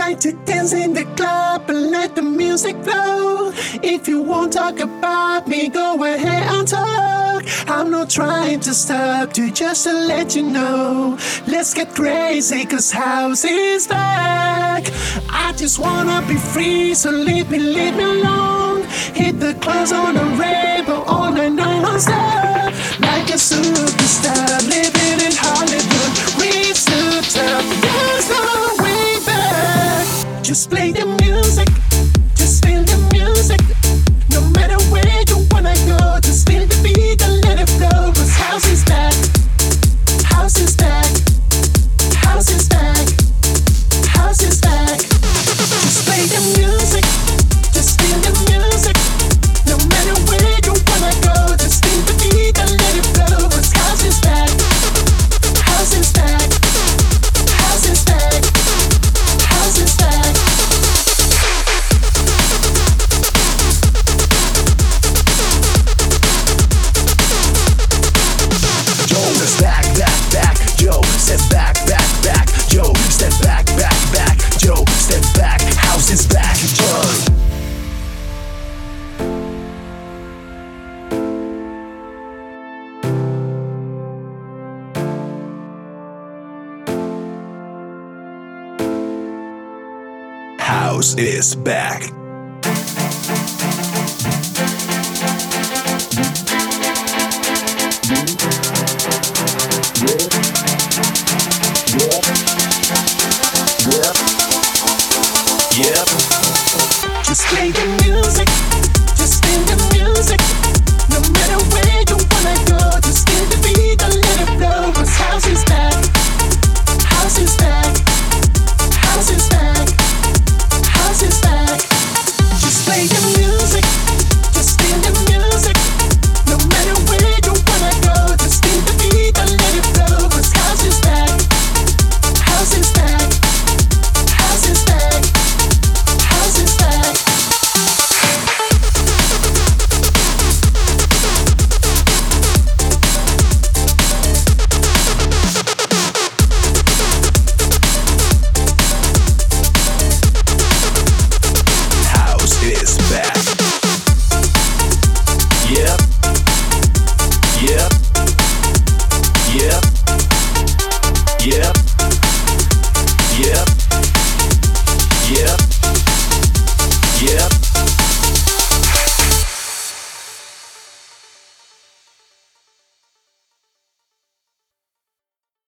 like to dance in the club and let the music flow. If you won't talk about me, go ahead and talk. I'm not trying to stop you, just to let you know. Let's get crazy, cause house is back. I just wanna be free, so leave me alone. Hit the clubs on the rainbow all night non-stop. Like a superstar, living in Hollywood. Reach the top, there's no way back. Just play the music, just feel the music. No matter where you wanna go, just feel the beat and let it flow. Cause house is back, house is back, house is back, house is back. Just play the music, just feel the music. No matter where you wanna go, just feel the beat and let it flow. Cause house is back, house is back, house is back, house is back. Joe, step back, Joe, step back, Joe, step back, Joe, step back, house is back, Joe. House is back. Just play the music.